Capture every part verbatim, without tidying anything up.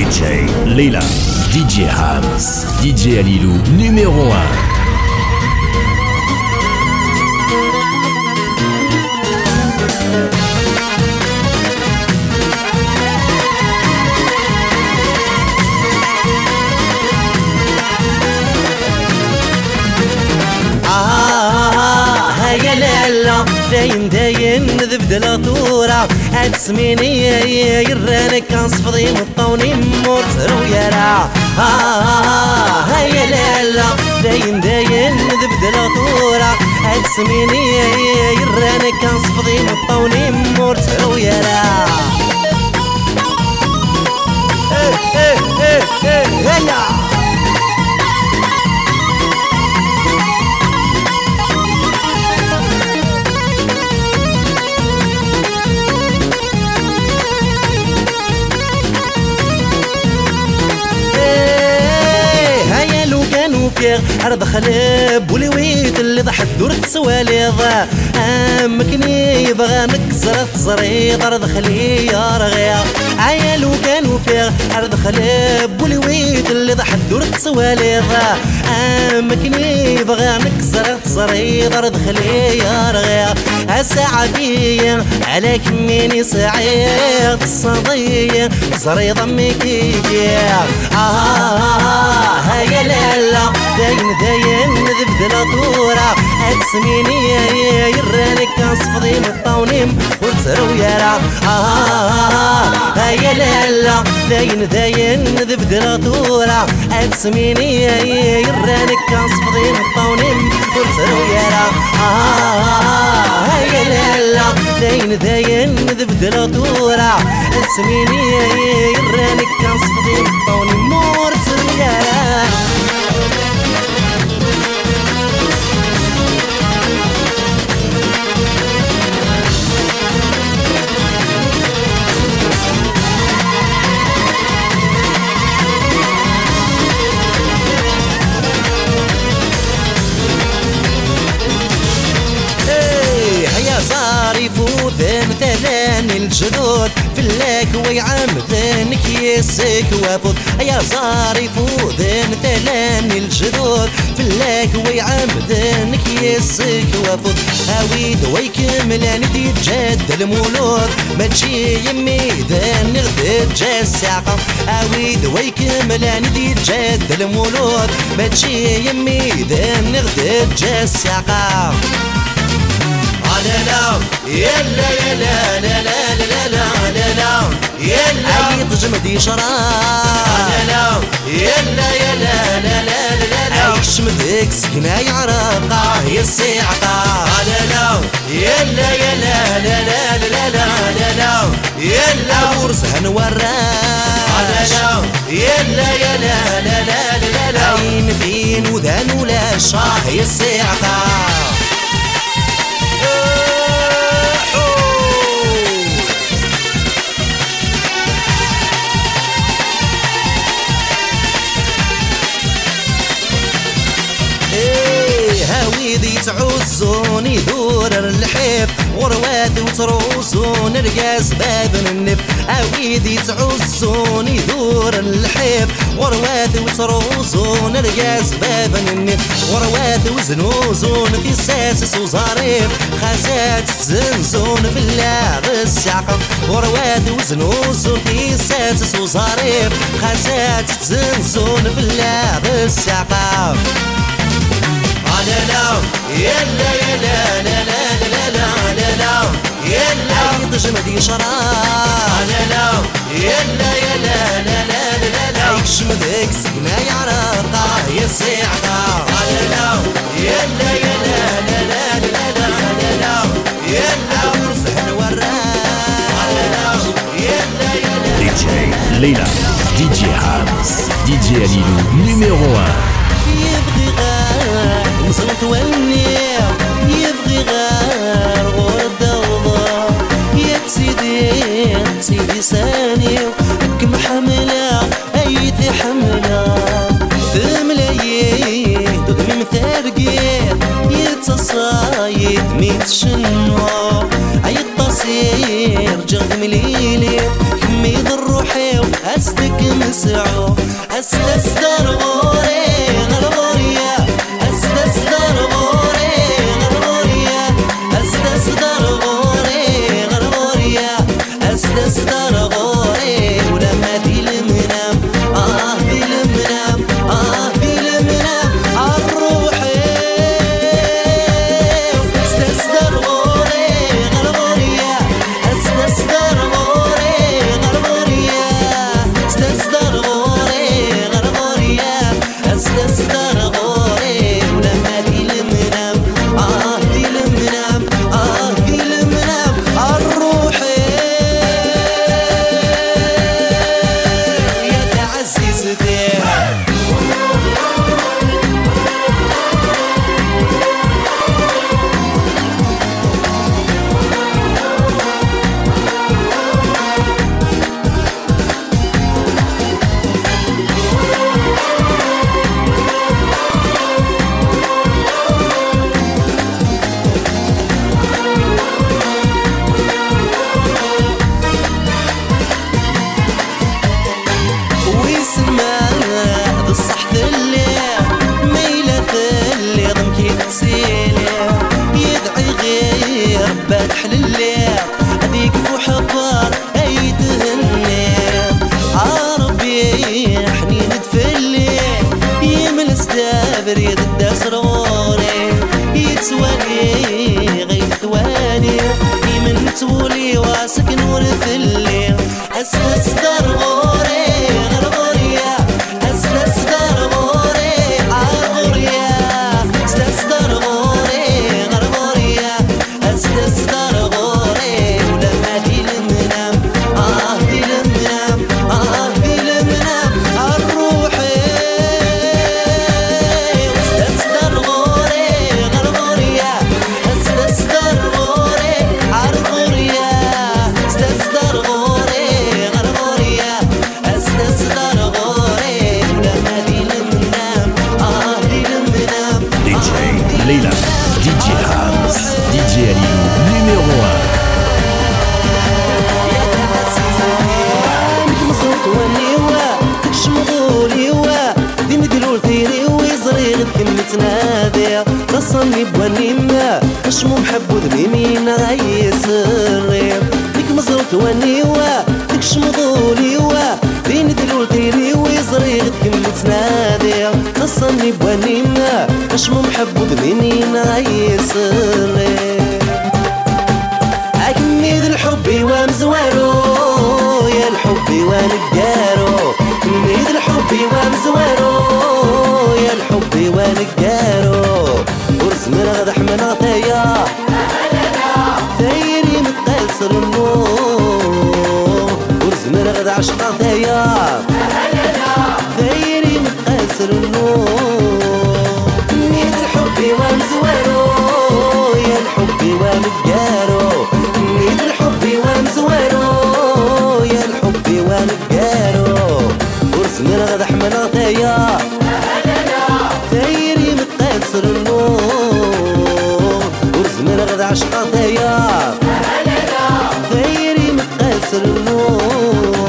جي ليلى، دي جي حامس، دي جي ليلو numéro un. داين داين ذبد الطورة هتسميني يرانك انصفضي مطوني مورتر ويرا ها هيا لالا داين داين ذبد الطورة هتسميني يرانك انصفضي مطوني مورتر ويرا ايه ايه ايه ايه هيا عرض خلاب ولويت اللي ضحت دورت سواليض امكني يبغى نكسر الزريط عرض خلي يا رغيا عيالو كانوا فيه عرض خلاب ولويت اللي ضحت دورت سواليض امكني يبغى نكسر الزريط عرض خلي يا رغيا الساعة بيا على كميني سعيد الصدية زريض ميكيكي اه هيا لالا داين داين ذبد الطورة هتسميني يرانك انصفضي مطونيم وتسرو يرا آه هيا لالا داين داين ذبد الطورة هتسميني يرانك انصفضي مطونيم وتسرو يرا آه هيا لالا داين داين ذبد الطورة هتسميني يرانك انصفضي مطونيم وتسرو يرا مثلان الجدود في اللاك ويعمدنك يسك وافض يا صاري فوذ مثلان الجدود في اللاك ويعمدنك يسك وافض هاويد ويكمل ندي جد المولود ما تجي يمي ذا نغدد جا الساقة هاويد ويكمل ندي جد المولود ما تجي يمي ذا نغدد جا الساقة لا يلا يلا لا لا لا لا لا لا يلا عيط جمدي شراب لا يلا يلا لا لا لا لا عيش مذيك سكنة يعرقه يا السيعقة لا لا يلا يلا لا لا لا لا لا لا يلا ورسها نوراش لا يلا يلا لا لا لا لا عين فين وذان ولا شاه يا السيعقة هاويدي تعوزون يدور الحيف ورواد وتروسون رقاس باب النف هاويدي تعوزون يدور الحيف ورواد وتروسون رقاس باب النف ورواد وزنوزون في ساسس وزاريف خاسات زنزون في اللعب السعقة ورواد وزنوزون في ساسس وزاريف خاسات زنزون في اللعب السعقة لا لا يلا يلا لا لا لا لا لا لا يلا عيط جمدي شراب لا لا يلا يلا لا لا لا لا عيش مذيك سكنة يعرقه يا السيعقة لا لا يلا يلا لا لا لا لا لا يلا ورسها نوراش لا لا يلا يلا دي جي ليلى، دي جي حامس، دي جي ليلو numéro un. يبغي غير مصلت والنير يبغي غير غردة وضار يا سيدي سيدي ساني كم حملة أيدي حملة ثملايين دقم مثارقين يتصايد ميت شنو عيط بصير جغم ليلي كمي ضروحي أسدك مسعو أستسدر غوري غرغوريا أستسدر غوري غرغوريا أستسدر غوري غرغوريا أستسدر غوري ولما دي المنام آه دي المنام آه دي المنام عالروحي أستسدر غوري غرغوريا أستسدر غوري غرغوريا أستسدر غوري غرغوريا أستسدر غوري ولما دي المنام آه دي المنام آه دي المنام عالروحي يا تعزيزتي بالصح ثلي ميلة ثلي ضمكي تسيلي يدعي غير باتح للي هذيك فو حبار اي تهني عربي حنين تفلي يمل ستابر يد سروري يتوالي غير ثواني يمن تولي واسكن ورثلي أستسدر غوري غرغوريا أستسدر غوري عالغوريا أستسدر غوري غرغوريا أستسدر غوري ولما دي المنام آه دي المنام آه دي المنام عالروحي أستسدر غوري غرغوريا أستسدر غوري عالغوريا أستسدر غوري غرغوريا أستسدر غوري ولما دي المنام آه دي المنام دي جي ليلى دي جي هامس دي جي عليلو numéro un. مصوت ونيوا تكشمغوليوا دي مدلول ثيري ويزري غد متنادي تصني بونيما اشمو محبو ذميمين غاي سري ديك مصوت ونيوا تكشمغوليوا دي مدلول ثيري ويزري غد متنادي تصني بونيما اشمو محبو ذميمين غاي سري أكمل الحب ومزوارو يا الحب ونقارو كمل الحب ومزوارو يا الحب ونقارو ورز من غدح من عطايا ثايري متقاسر النور ورز من غد عشق عطايا ثايري متقاسر النور كمل الحب ومزوارو يا الحب ونقارو كمل الحب ومزوارو يا الحب ونقارو ورز من غدح من عطايا ثايري متقاسر النور ورز من غد عشق عطايا ثايري متقاسر النور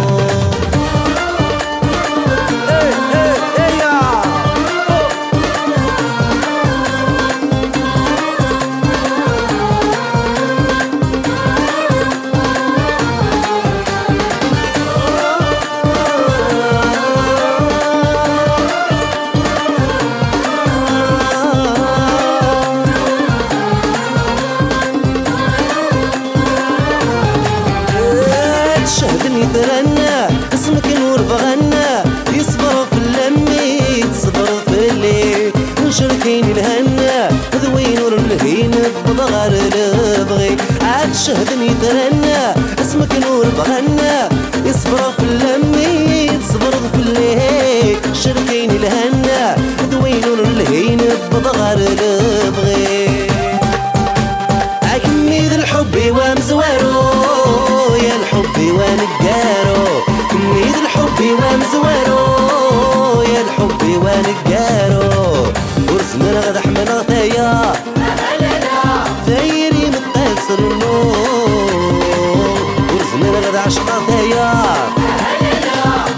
شهدني ترنى اسمك نور بغنى يصبر في اللمي تصبر في الليل نشركين الهنا ذوي نور الهين بضغر البغي عاد شهدني ترنى اسمك نور بغنى يصبر في اللمي تصبر في الليل شركين الهنا ذوي نور الهين بضغر البغي أكمل الحب ومزوارو يا الحب ونقارو كميد الحب ومزوارو يا الحب ونقارو ورز من غدح من عطايا ثايري متقاسر النور ورز من غد عشق عطايا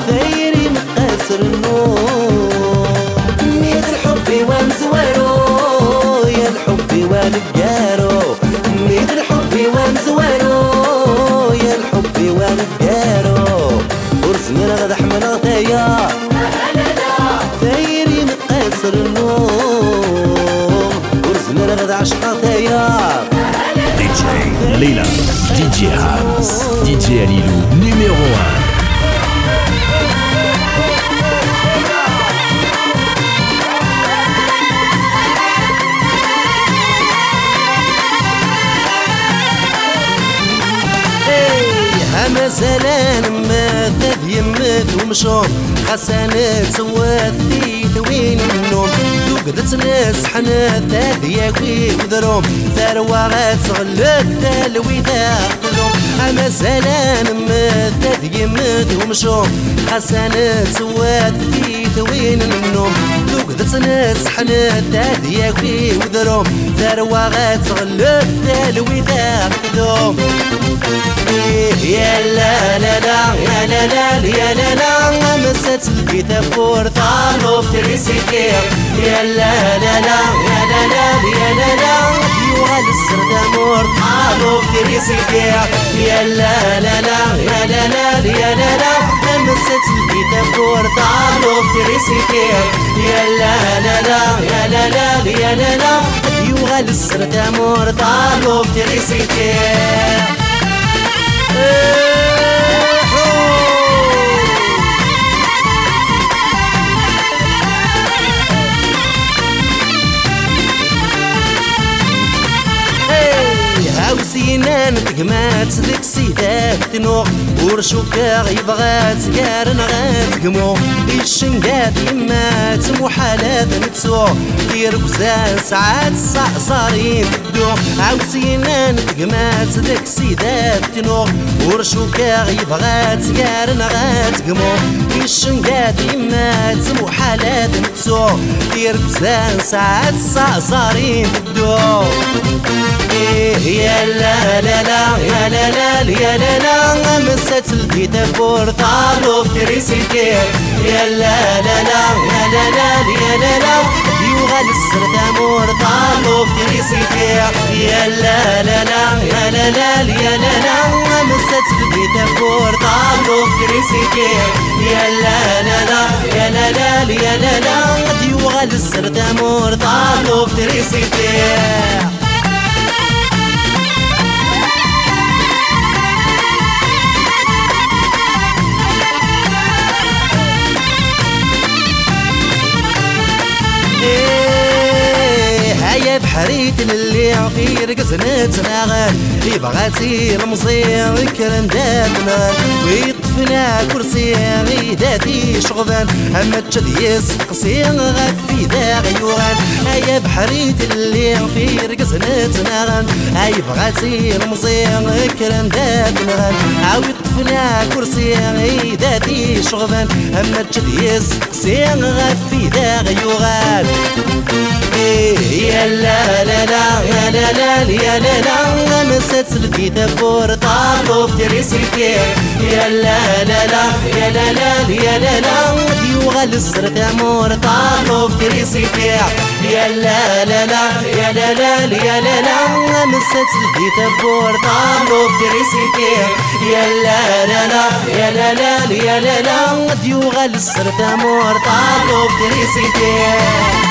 فرح من غدايا ثايري متقاسر النوم ورزنا لغد عشقة ثايا دي جي ليلى دي جي هامس دي جي ليلو numéro un. مثلا ماذا يمت ومشوم حسنات سوات في ثوين النوم ذوقدت ناس حنات هذياكي وذروم ثروة غتغلت تلوي ذاقلهم مثلا ماذا يمت ومشوم حسنات سوات في ثوين النوم ذوقدت ناس حنات هذياكي وذروم ثروة غتغلت تلوي ذاقلهم يا لا لا لا يا لا لا يا لا لا مسات الكتاب بورطالو في تريسيكير يا لا لا لا يا لا لا يا لا لا يوغال السردة مورطالو في تريسيكير يا لا لا لا يا لا لا يا لا لا مسات الكتاب بورطالو في تريسيكير يا لا لا لا يا لا لا يا لا لا يوغال السردة مورطالو في تريسيكير هاوسينان تقمات ذيك سيدات تنوغ ورشوكا يبغى تقارن غاتقمو الشنقات يمات محالات نتسو دير قزان ساعات صارين تبدو هاوسينان تقمات ذيك سيدات تنوغ ورشوكا يبغى تقارن غاتقمو الشنقات يمات محالات نتسو دير قزان ساعات صارين تبدو يا لا لا لا يا لا لا يا لا لا مسات الكتاب بورطالو في تريسيكير يا لا لا لا يا لا لا يا لا لا يوغال السردة مورطالو في تريسيكير يا لا لا لا يا لا لا يا لا لا مسات الكتاب بورطالو في تريسيكير يا لا لا لا يا لا لا يا لا لا يوغال السردة مورطالو في تريسيكير هيا بحريت اللي في رقصنا تناغل اللي بغاتي المصير الكلام دابنا ويطفنا كرسي غيداتي شغفان اما تشديس تقسي غاد في ذا غيوغان هيا بحريت اللي في رقصنا تناغل هيا بغاتي المصير الكلام دابنا ويطفنا كرسي غيداتي شغفان اما تشديس تقسي غاد في ذا غيوغان يا لا لا لا يا لا لا يا لا لا مسات الكتاب بورطالو في تريسيكير يا لا لا لا يا لا لا يا لا لا يوغال السردة مورطالو في تريسيكير يا لا لا لا يا لا لا يا لا لا مسات الكتاب بورطالو في تريسيكير يا لا لا لا يا لا لا يا لا لا يوغال السردة مورطالو في تريسيكير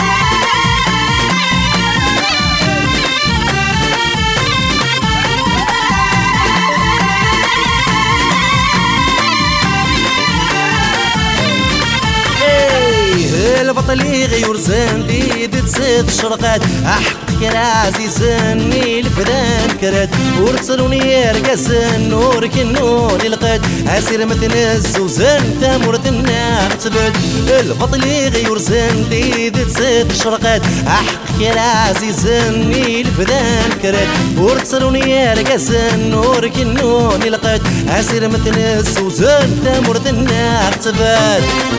البطلي غيور زندي تزيد شرقات احق كرازي زني الفدان كرات ورسلوني رقصن نور كنون القد اسير متنز وزن تمر النار تبد البطلي غيور زندي تزيد شرقات احق كرازي زني الفدان كرات ورسلوني رقصن نور كنون القد اسير متنز وزن تمر النار تبد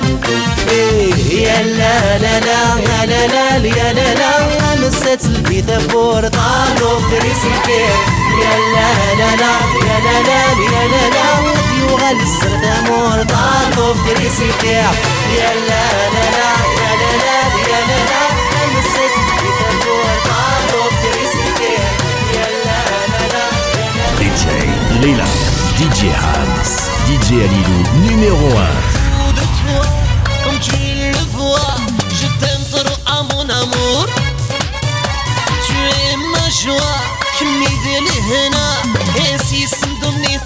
يا لا لا لا يا لا لا يا لا لا مسات الكتاب بورطالو في تريسيكير يا لا لا لا يا لا لا يا لا لا يوغال السردة مورطالو في تريسيكير يا لا لا لا يا لا لا يا لا لا مسات الكتاب بورطالو في تريسيكير يا لا لا لا دي جي ليلى. D J Hams, D J Alilou, numéro un. De toi, comme tu le vois, je t'aime trop à mon amour. Tu es ma joie, qui m'aide les hena, et si c'est donné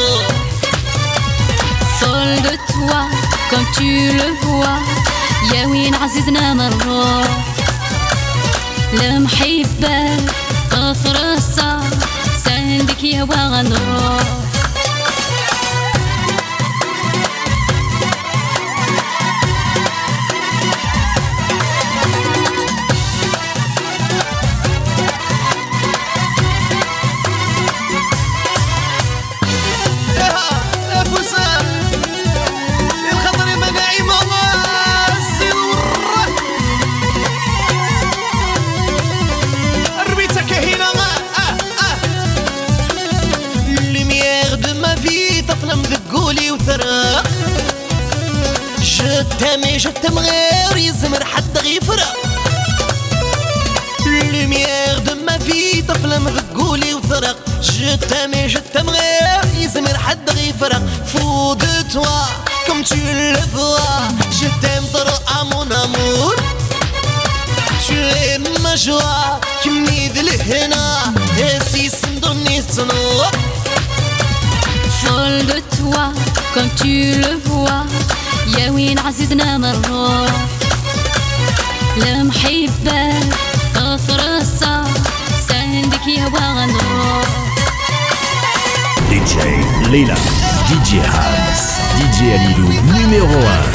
folle de toi, comme tu le vois, يا وين عزيزنا مرة المحبة قصر الصار سندك يا وغنروح Je t'aime et je t'aimerai, يزمر حد غيفرق. Lumière de ma vie, تفلم بقولي وثرق. Je t'aime et je t'aimerai, يزمر حد غيفرق. Fou de toi, comme tu le vois, je t'aime trop à mon amour. Tu es ma joie, qui m'aide les hena, et si c'est donné son nom. Folle de toi, comme tu le vois, يا وين عزيزنا مرة المحبة قصر الصار سندك يا وغنروح D J Leila, D J Hams, D J Alilou, numéro un.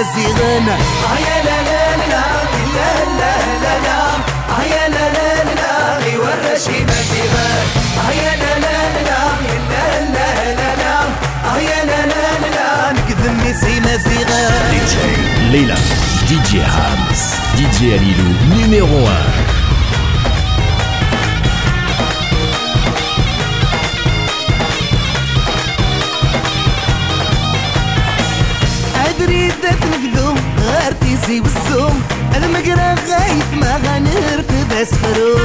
مزيغان يا لا لا لا لا لا لا لا يا لا لا لا غي ورشي مزيغان يا لا لا لا لا لا لا لا يا لا لا لا نكذب ميسي مزيغان دي جي ليلى دي جي هامس دي جي Alilou numéro un. أدري دات نقدو غير تيزي والزوم المقرا غايف ما غنرفد أسفرو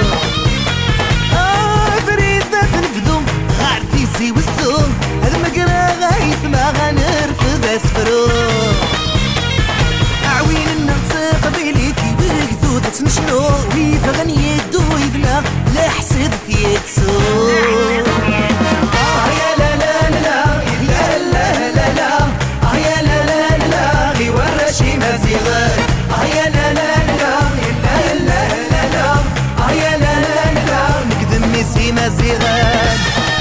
أدري دات نقدو غير تيزي والزوم المقرا غايف ما غنرفد أسفرو عوين النغسق بيليكي وقدو تتنشنو ويفا غنيدو يدنا لا حسد يكسو يا لا لا لا لا لا لا لا يا لا لا لا غي ورشي مزيغان يا لا لا لا لا لا لا لا يا لا لا لا نكذب ميسي مزيغان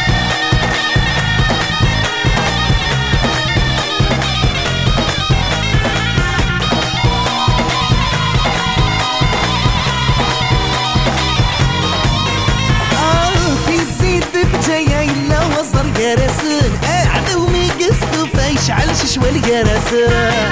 جرسن عدو مي قصدو فيشعل ششوى الجرسن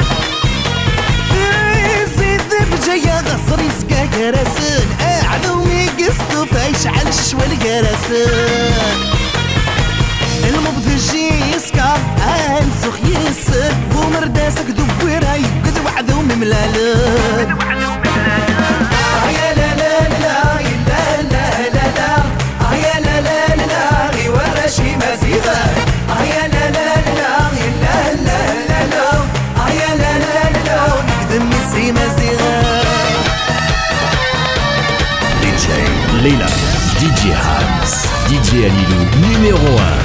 في زيد بجايا غصر يسقى جرسن عدو مي قصدو فيشعل ششوى الجرسن المبذجي يسكر انسخ يسر ومرداسك دويراي قد وعدو مملالن يا لا لا لا لا لا لا لا يا لا لا لا غي ورشي مزيغان يا لا لا لا لا لا لا لا يا لا لا لا نكذب ميسي مزيغان دي جي ليلى دي جي هامس دي جي Alilou numéro un.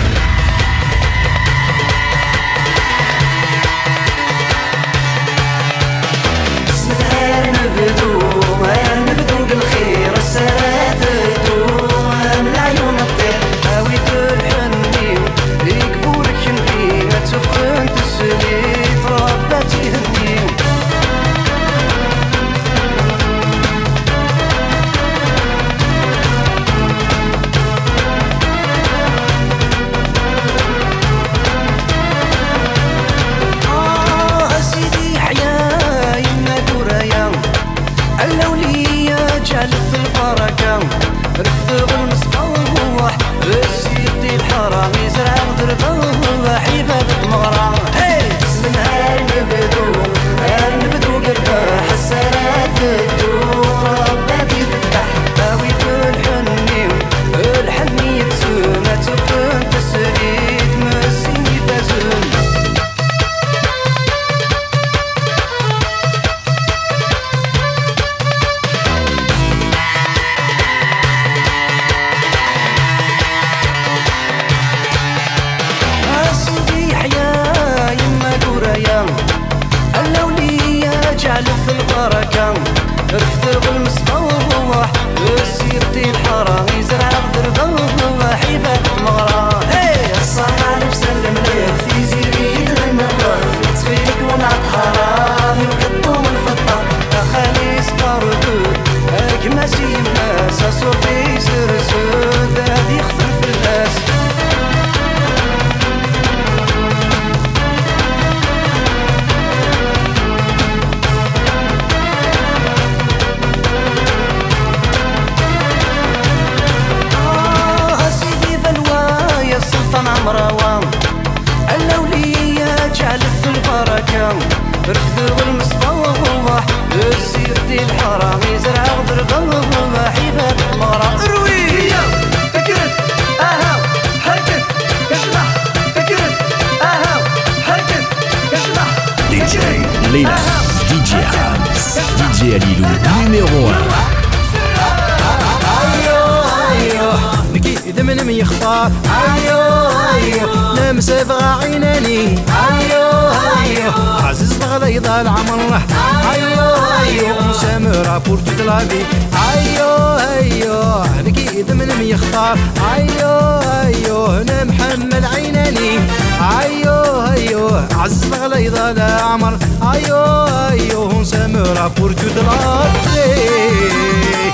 Lila, D J Hams, D J Alilou numéro un. إذا من يختار أيو أيو لمس بغى عيناني أيو أيو عزيز بغى يضل عمره أيو أيو سامرة بور توت لا في أيو أيو هذيك إذا من يختار أيو أيو أنا محمل عيناني أيو أيو ايوه عز غليظ العمر ايوه ايوه سمرة pour toute la vie.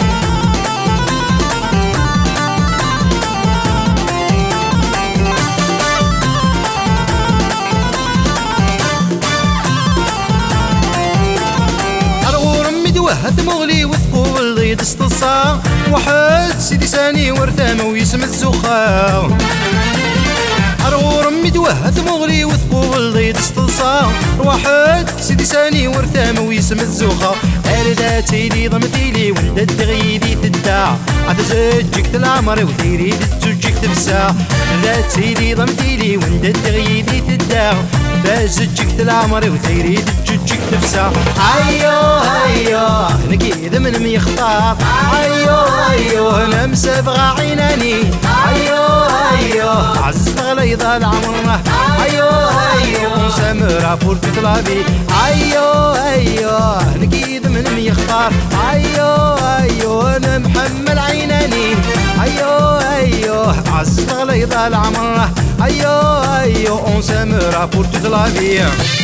وهد مغلي وثقول ضيد استصا واحد سيدي ساني ورثامه ويسم الزخا أرغور ميد وهد مغلي وثقول ضيد استصا واحد سيدي ساني ورثامه ويسم الزخا أرداتي لي ضمتيلي ولدت تغيدي تدع عتزجك العمر وثيري تزجك تفسا أرداتي لي ضمتيلي ولدت تغيدي تدع فازجك العمر وثيري تزجك تفسا أيوه أيوه نكيد من ميختار أيوه أيوه نمسبغ عيناني أيوه أيوه عز غليظ العمر أيوه أيوه سمرة pour toute la vie أيوه أيوه نكيد من ميختار أيوه أيوه نمحمل عيناني أيوه أيوه عز غليظ العمر أيوه أيوه on s'aimera pour toute la vie.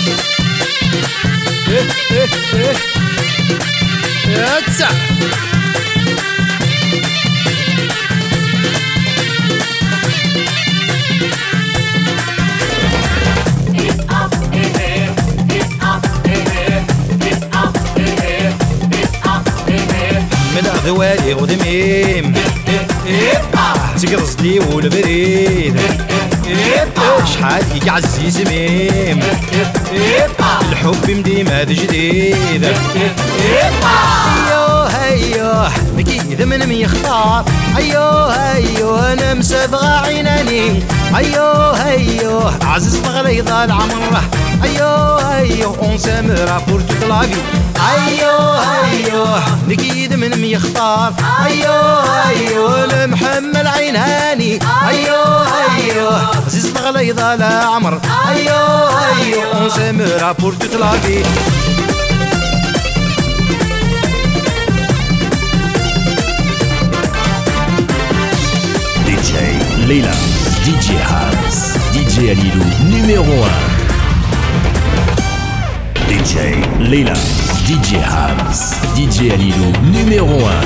إيه إيه إيه ياتسع من أغوالي غدميم تقرص لي والبريد شحال فيك عزيز ميم الحب مديما جديد ايوه ايوه مكيد من ميختار ايوه ايوه انا مسابغة عيناني ايوه ايوه عزيز غليظ العمر ايوه ايوه اون سامرة pour toute la vie ايوه ايوه مكيد من ميختار ايوه ايوه المحمل عيناني ايوه ايوه عزيز غليظ العمر ايوه ايوه اون سامرة pour toute la vie. D J Leila, D J Hams, D J Alilou numéro un. D J Leila, D J Hams, D J Alilou numéro un.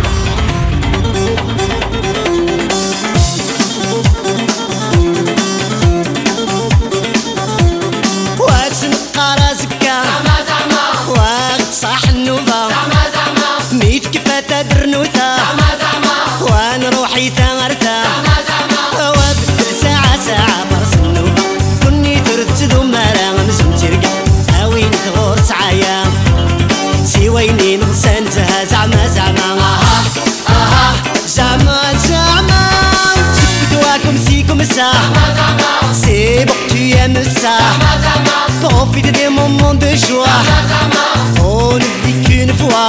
وانا روحي ثمرتها وابدل ساعة ساعة برس النوبة كني ترتد ومالا مزم ترقى هاوين تغور سعايا سيويني نغسانتها زعما زعما اها اها زعما زعما تبدواكم سيكم سا سي بوك tu aimes ça profite des moments de joie on ne vit qu'une fois.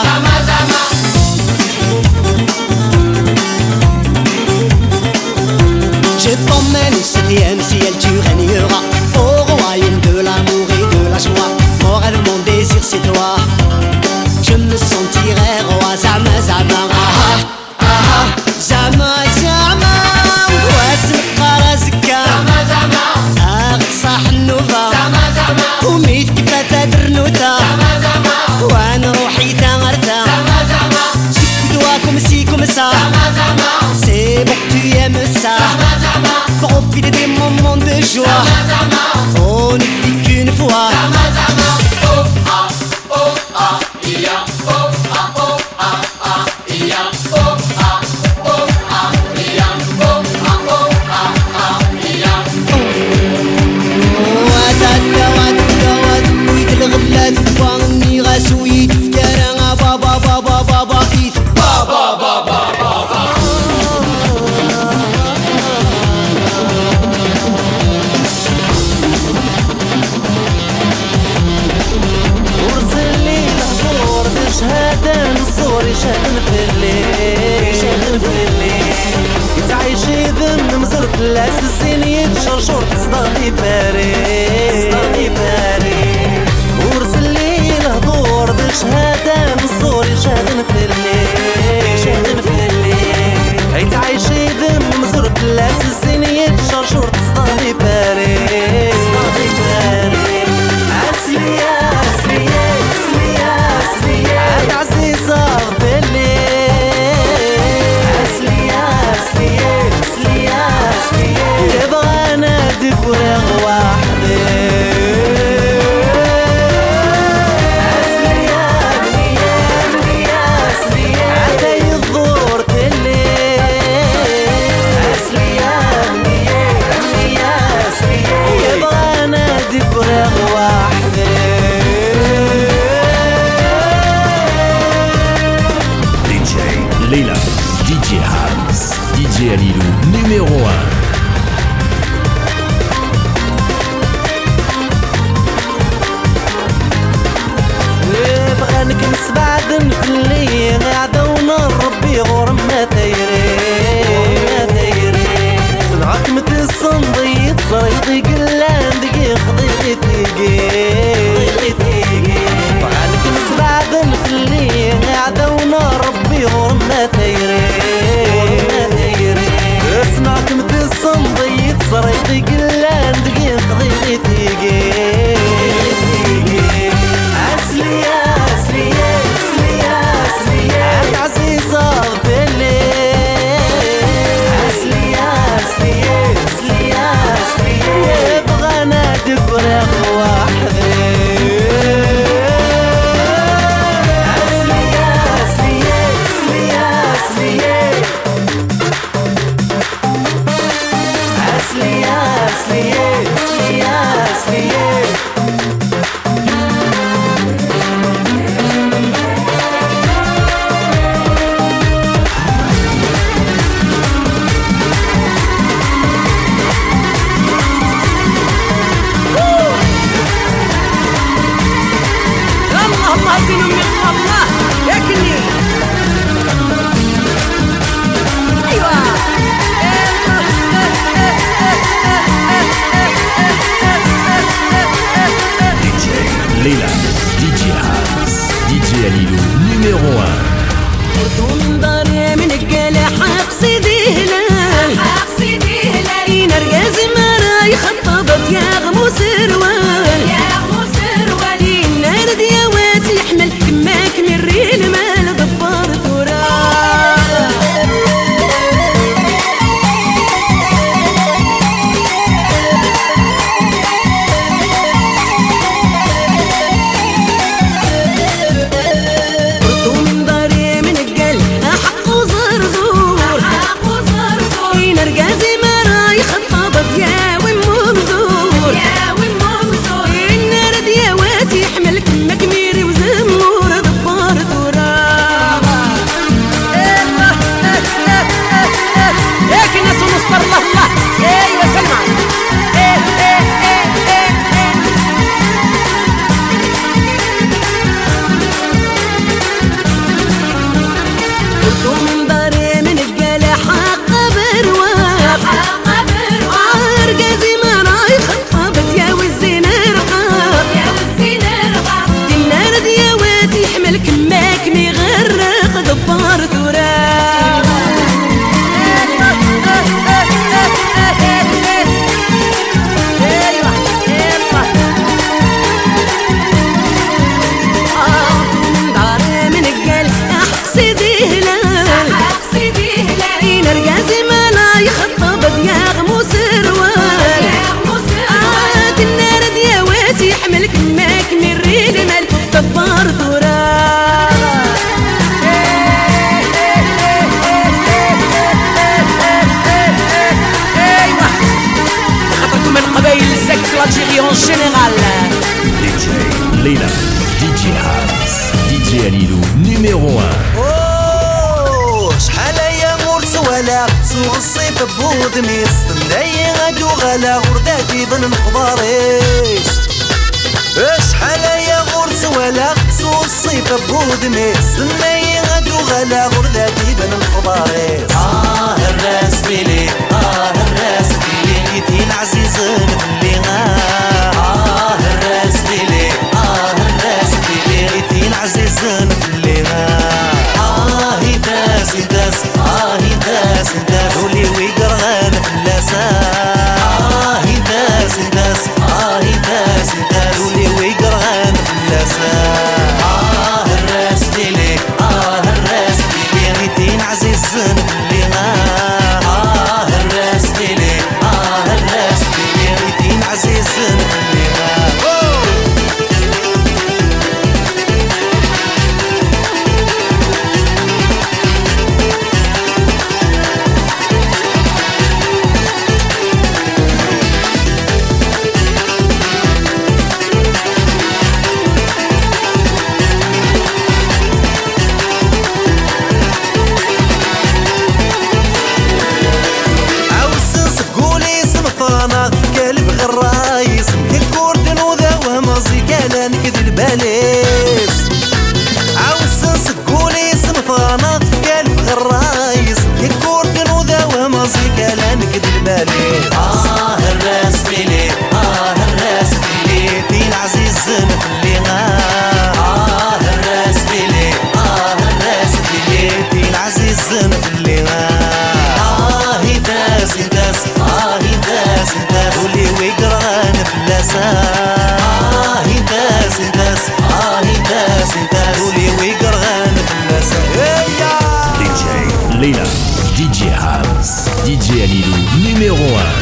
Je t'emmène au septième ciel, tu régneras au royaume de l'amour et de la joie. Mon rêve, mon désir, c'est toi. Je me sentirai roi, zama zama, ah ah, zama zama. واسمع راسك أغصح النوبة وميت كيف تدرنوتا Leila, D J Hams, D J Alilou, numéro un. بغانك نسبعد نفلي غادا ونربي غور ما تيري صنعك متسن ضيط صريطي قلان دقي خضيطي تيقي بغانك نسبعد نفلي غادا ونربي غور ما تيري صنعك متسن ضيط صريطي قلان دقي خضيطي تيقي عسلية عسلية عسلية عسلية عزيزة غفلي عسلية عسلية عسلية عسلية بغانا تفرغ وحدي عسلية عسلية عسلية عسلية عسلية عسلية عسلية اللهم هزين من الله ياكلني ايوه D J Leila, D J Hams, D J Alilou, numéro un. ودون داري من القلع حقصدي هلال حقصدي هلال ينرقز مرا يخطبت يا غمو سروال يا غمو سروال النار ديوات يحمل كماك من الريل مال ضفار تراب ودون داري من القلع حق وزرزور حق وزرزور ينرقز مرا يخطبت يا وممزور يا وممزور النار ديوات يحمل كماك ميري وزمور ضفار تراب ياك الناس ونصبر الله الله ايوه سلمى ايه ايه ايه ايه قلتو من داري من القلع حق برواق حق برواق رقازي ما راي خطبت يا والزين رقاق يا والزين رقاق النار ديوات يحمل كماك ميغرق ضبار تراب ايوه يلا داري من القلع حقصدي هلال حقصدي هلال ينرقازي ما لا يخطبت يا غمو سروال يا غمو سروال النار ديوات يحمل كماك من الريل مال ضبار تراب ايوه خاطركم من قبائل الزك في الجيري اون جينيرال D J Leila, D J Hams, D J Alilou, numéro un. أوه، شحال يا مرس ولا سوق الصيف بود ميس ناي غادو غلا غرداتي بن مخباريس شحال يا مرس ولا سوق الصيف بود ميس ناي غادو غلا غرداتي بن مخباريس اه الراس فيلي اه الراس فيلي كيتين عزيز نفلي اه الراس فيلي اه الراس فيلي كيتين عزيز نفلي آه داس داس آه داس داس ولي ويقرغان فلاسا آه داس داس آه داس داس ولي ويقرغان فلاسا آه الراس ديلي آه الراس ديلي غيتين عزيز نفلي آه الراس ديلي آه الراس ديلي غيتين Alilou, numéro un.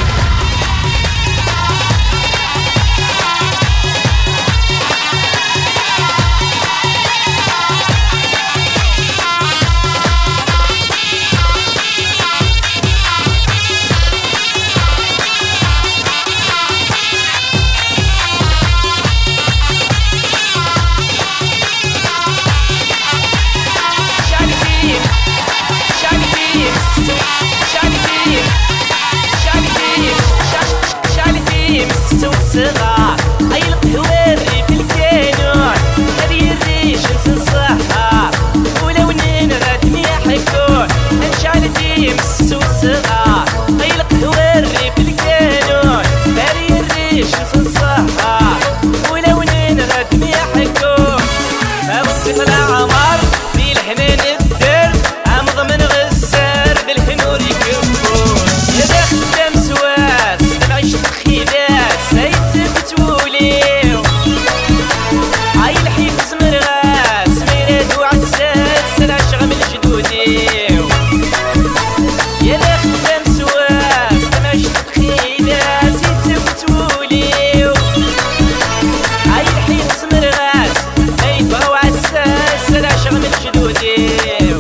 صغار أي القهواري في الكانون هذي الريش نسنصحها ولو ننرد يحكون نشعل ديمس وصغار أي القهواري في الكانون هذي الريش نسنصحها ولو ننرد يحكون أبو العمر في الحنان الدر أمض من غسار بالحنور يكفون يا خدام سواس تبعيش الخيدات سيد بتوليو عاي الحيف زمر غاس ميلاد وعساس سلع شغم الجدوديو يا خدام سواس تبعيش الخيدات سيد بتوليو عاي الحيف زمر غاس ميلاد وعساس سلع شغم الجدوديو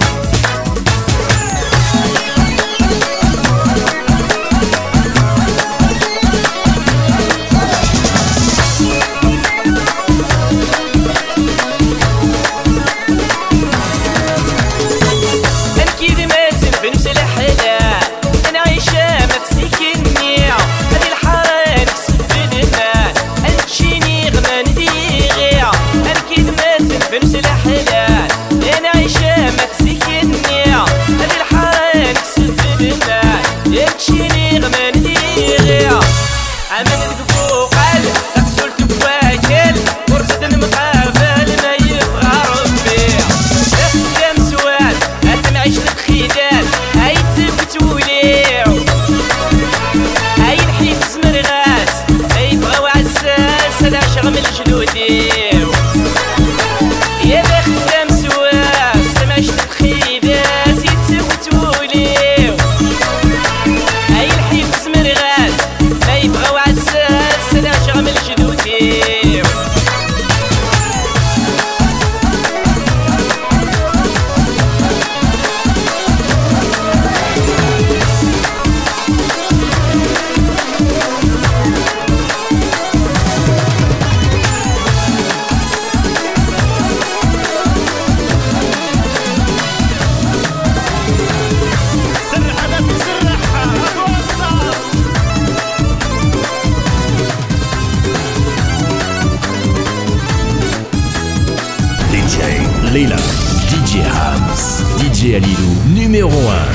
Leila, D J Hams, D J Alilou, numéro un.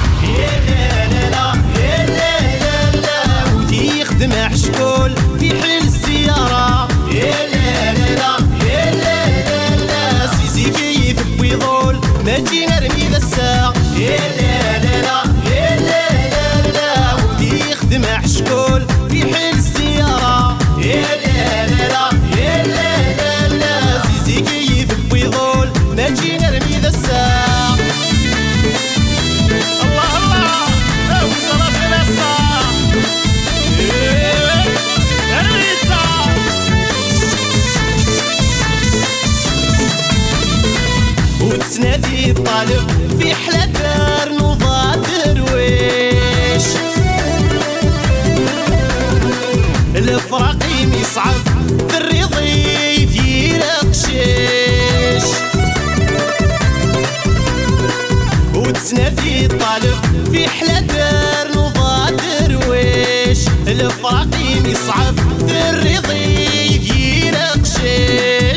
ودي يخدم حشكول في حل السيارة يا لا لا لا يا لا لا لا سيسي كيف بيضول ما تجي نرمي ذا الساق يا لا لا لا يا لا لا لا ودي يخدم حشكول في حل السيارة يا لا لا لا يا لا لا لا سيسي كيف بيضول ما تجي نرمي ذا الساق الله الله او صلاة النصار وتسنادي الطالب في حلا دار نوضة درويش الفراقيم يصعب في الرضيف يرقشيش وتسنادي الطالب في حلا دار نوضة درويش الفراقيم يصعب في الرضيف يرقشيش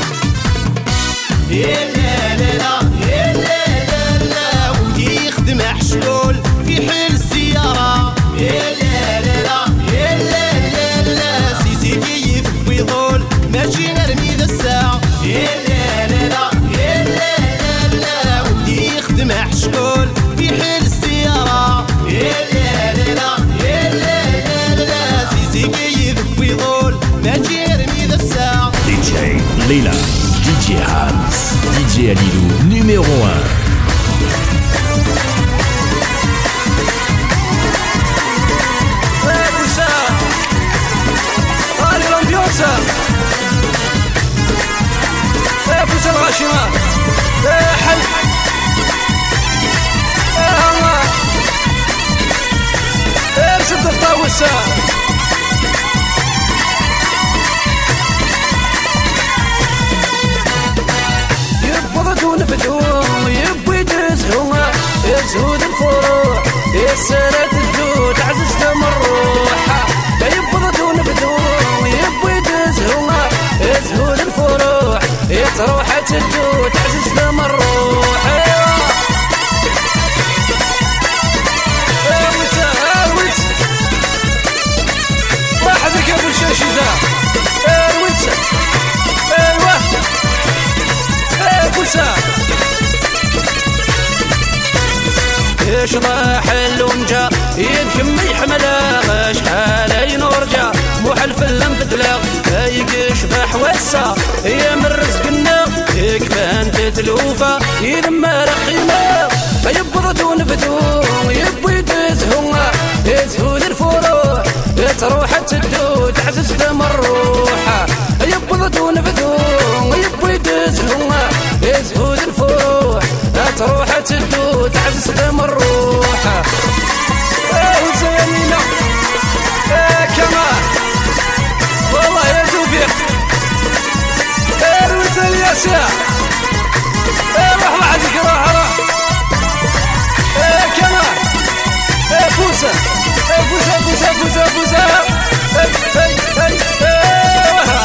يا لا لا لا يا لا لا لا ودي يخدم حشكول في حل السيارة يا لا لا لا يا لا لا لا سيسي كيف بيضول ماشي نرمي ذا الساعة يا لا لا لا يا لا لا لا ودي يخدم حشكول في حل السيارة يا لا لا لا يا لا لا لا سيسي كيف بيضول ماشي نرمي ذا الساعة D J Leila, D J Hams, D J Alilou, numéro un. راشي حل ارشد الطاوسة يبضدون بدون يبوي تزهو يزهود الفروع يسرت الدود عزز تمروحة يبضدون بدون يبوي تزهو يزهود الفروع يتروحة الدود عزز تمروحة واحد قبل شاشي ذا ارويت ايوه ايوه ايش راح اللونجا يدكم يحملها شحال ينورجا مو حلف اللمبدلا يشبح وسا يا من رزقنا يكفان تتلوفا يلما رقيمه يبردون بدون يبوي تزهوها يزهود الفروع تروح تدو تعزز دم الروحة يبردون بدون يبوي تزهوها يزهود الفروع تروح تدو تعزز دم الروحة ايه زينينا ايه كمان والله يا توفيق ايه رويت الياسع ايه روح لحدك روح روح ايه كمان ايه فوسة ايه فوسة فوسة فوسة فوسة ايه ايه ايه ايه وها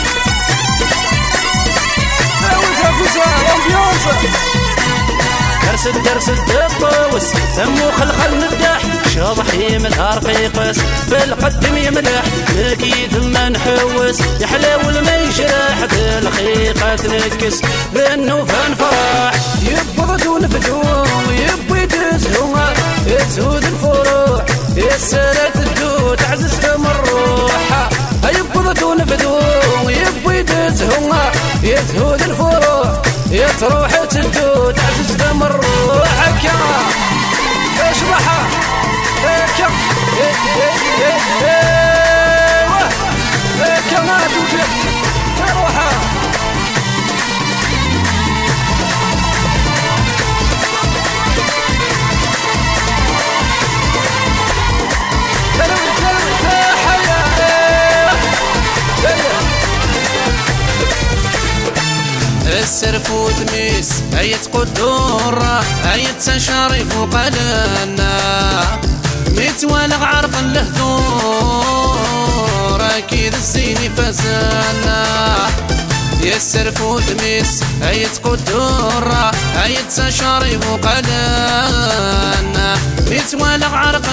ايه وها فوسة الامبيونسة درس درس الدبوس ثمو خلخل مدح شاضحي من رقيقس بالقدم يملح مكيد ما نحوس يحلاو ما يشرح بالخيقة تنكس بالنوفان فرح يبردون بدون يبوي تزهوها يزهود الفروع يسرت الدود عزز دم الروحة يبردون بدون يبوي تزهوها يزهود الفروع يتروح تدود عزز دم الروحة كما اشرحها كم ايوه كما توفيق روحها السرف وتميس أيت قدورة أيت تشارف وقلنا متوالغ عرق اللهدور أكيد الزين فزانا يا السرف وتميس أيت قدورة أيت تشارف وقلنا متوالغ عرق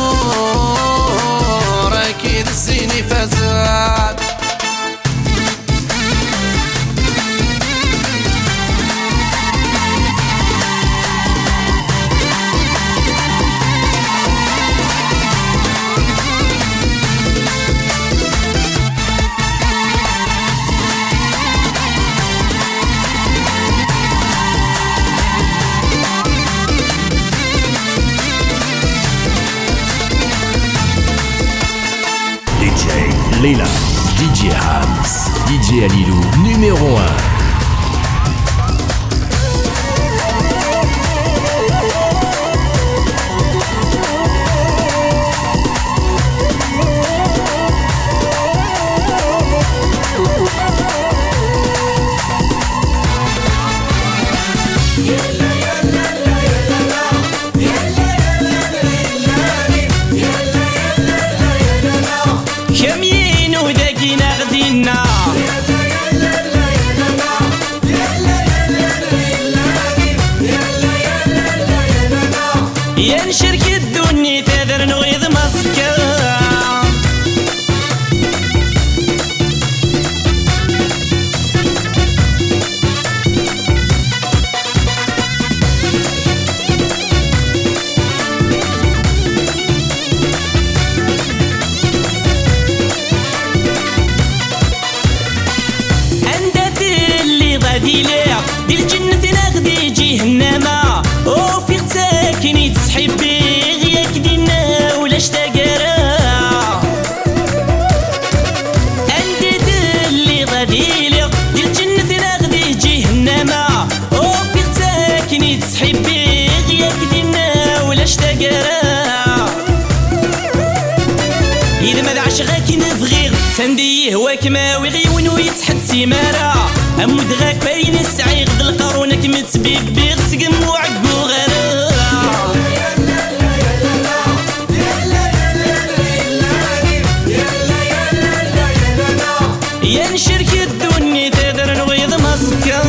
اللهدور أكيد الزين فزان Leila, D J Hams, D J Alilou, numéro un. ينشرك الدنيا تذر نغيظ مسكا عند اللي غادي لا دي الجنة ناخدي جهنم وفي ساكني تسحب بي غياك دينا تنديه وكما وغيون ويتحد سيمارة أمود غاك باين السعي غد القارونك متبيب بيغسقم وعقو غير يا نشرك الدنيا تقدر نغيظ مسكا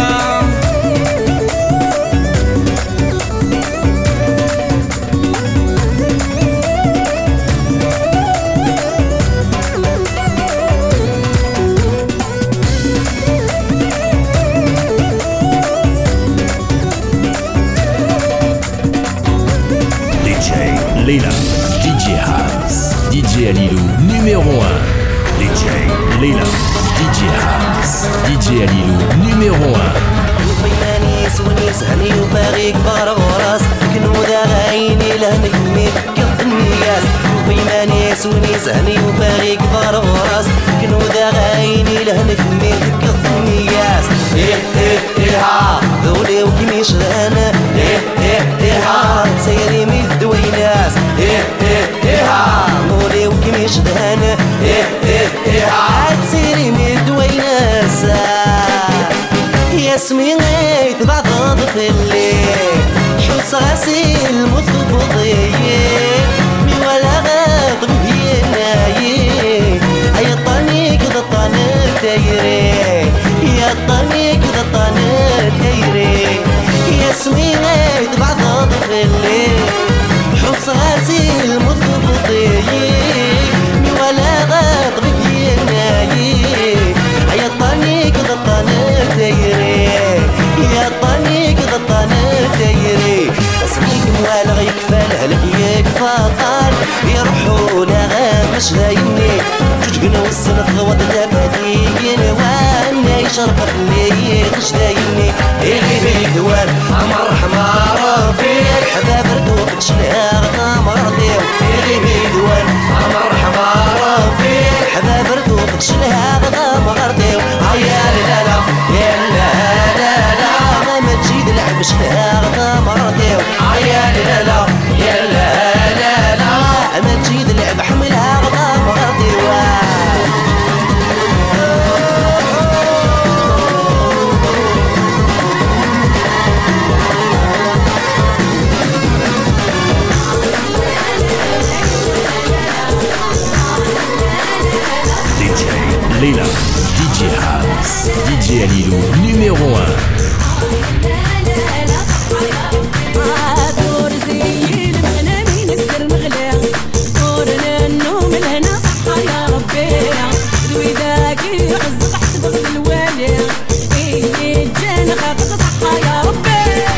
Leila, D J Habs, D J Alilou, numéro un. D J Leila, D J Habs, D J Alilou, numéro un. ويماني سوني سهني وباغي كبار وراس كنودا عيني لهنك ميكف النياس ويماني سوني سهني وباغي كبار وراس كنودا عيني لهنك ميكف النياس ايه ايه ايه ها ذولي وكيميش رانا ايه ايه ايه ها سيري ميدويناس ايه ايه ايه ها ذولي وكيميش رانا ايه ايه ايه ها سيري ميدويناس ياسمين غيت بعض في الليل حوس غسيل مضبوطي مي ولا غاض بيناي هيا طانيك ذا طانك دايري يا طانيك ذا طانك دايري ياسمين غيت بعض في الليل حوس غسيل مضبوطي مي ولا غاض بيناي هيا طانيك ذا طانك دايري يا طانيك ذا طانك دايري اسميك موالغ يكفى لهلك يكفى طال يروحوا لغا مش دايني جوجقنا والسنة غوض دابادين وانا يشرب اللي مش دايني اللي بيدوان عمر حمار فيك حباب ردوك تشلها غدا مرضيو اللي بيدوان عمر حمار فيك حباب ردوك تشلها غدا مرضيو هيا لا لا يا لا لا لا ما تجي تلعب شلها غدا مرضيو هيا لا لا يا لا لا لا ما تجي تلعب حملها غدا مرضيو Leila, D J Habs, D J Alilou, numéro un. دور زي المغنى نقدر نغلى دورنا النوم لهنا صحة يا ربي دويداك يعزق حسب الوالي إيه جانا خاطر صحة يا ربي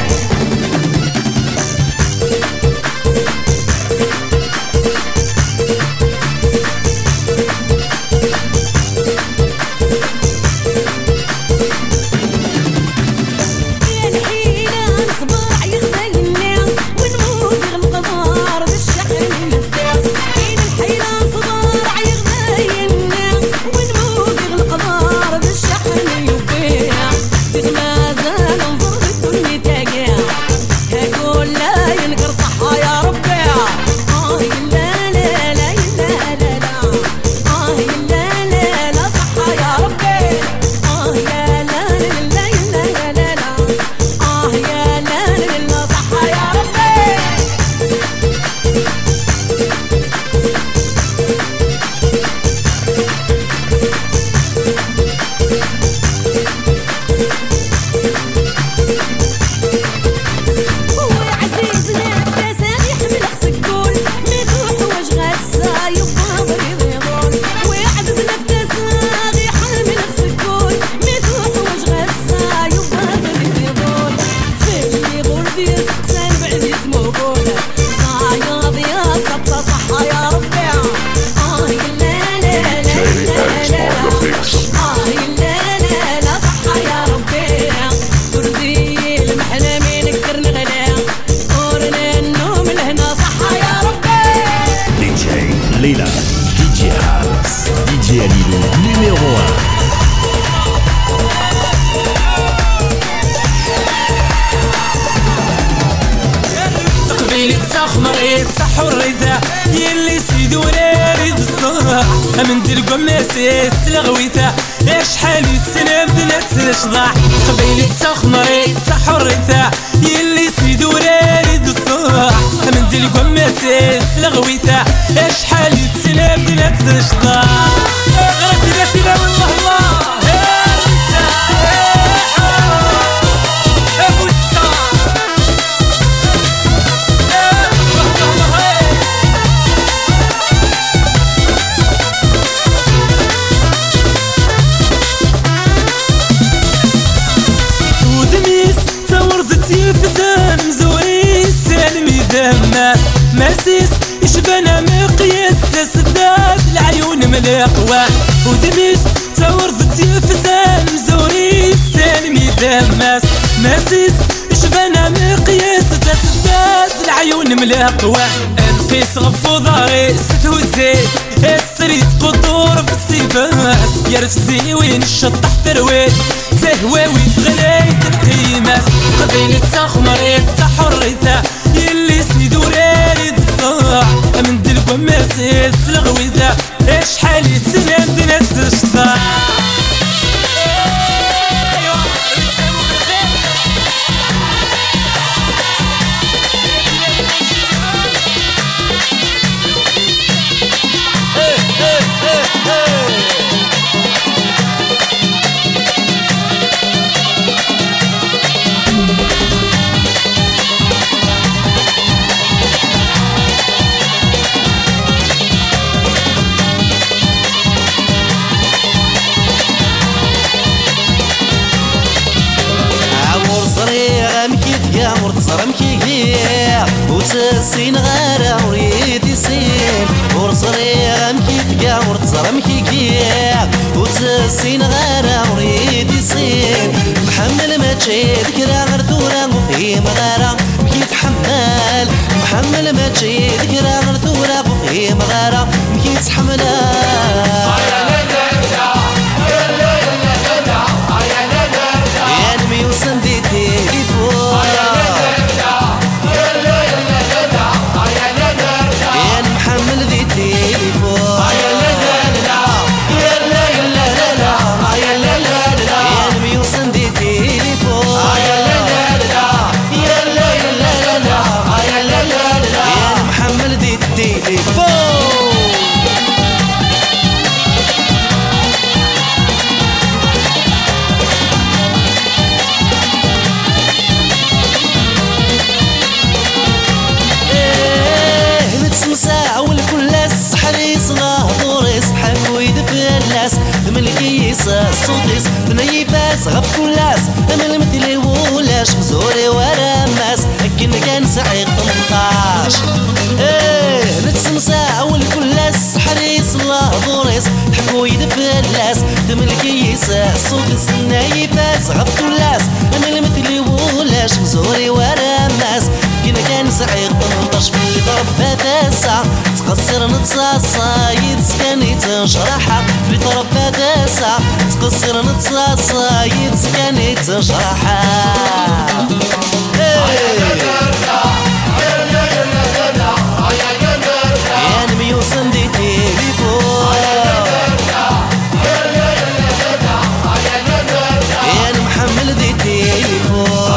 Leila, D J Habs, D J Alilou, numéro un. تقبيل التخمر يفتح الرداء يلي سيدونا ريد الصباح من دير قماسيس لغويثة شحال يتسنى بدنا تنشضع قبيلة تخمري تحرثة يلي سيدو رارد الصباح من دير قماسيس لغويثة شحال يتسنى بدنا تنشضع غرب داتنا والله الله فتان مزوري سالمي دماس ماسيس يشبنا مقياس تسداد العيون ملاقواه ودميس تورضتي فتان مزوري سالمي دماس ماسيس يشبنا مقياس تسداد العيون ملاقواه نقيس غفو ضاري ستو الزيت السريت قطور في الصفات يرفزي وين الشطح ترويت تهواوي تغلي القيمات قبيلة تخمري تحرثة يلي سيدو رارد الصاع من دير قماسيس لغويثة شحال يتسنى بدنا تشطح صرمكي كيا وتسين غارة وريد يسين ورصري غمكي تقا ورتصرمكي كيا وتسين غارة وريد يسين محمل ما تشي ذكرى غير ثورة وفي مغارة مكي تحمل محمل ما تشي ذكرى غير ثورة وفي مغارة مكي تحملها يا نمي وسندي تليفون الصوتيس بنيفاس غف كلاس انا المثلي ولاش مزوري ورا ماس لكن كان سعيق ثمنطاش ايه نتسمسا اول كلاس حريص الله ضوريس حكو يدفلاس تملكيس الصوتيس بنيفاس غف كلاس انا المثلي ولاش مزوري ورا ماس لكن كان سعيق ثمنطاش في ضرب تاسع تقصر نتصاصا يتسكني تنشرحها في طرف تاسع تقصر نتصاصا يتسكني تنشرحها يا نبي وصندي تليفون يا محمل دي تليفون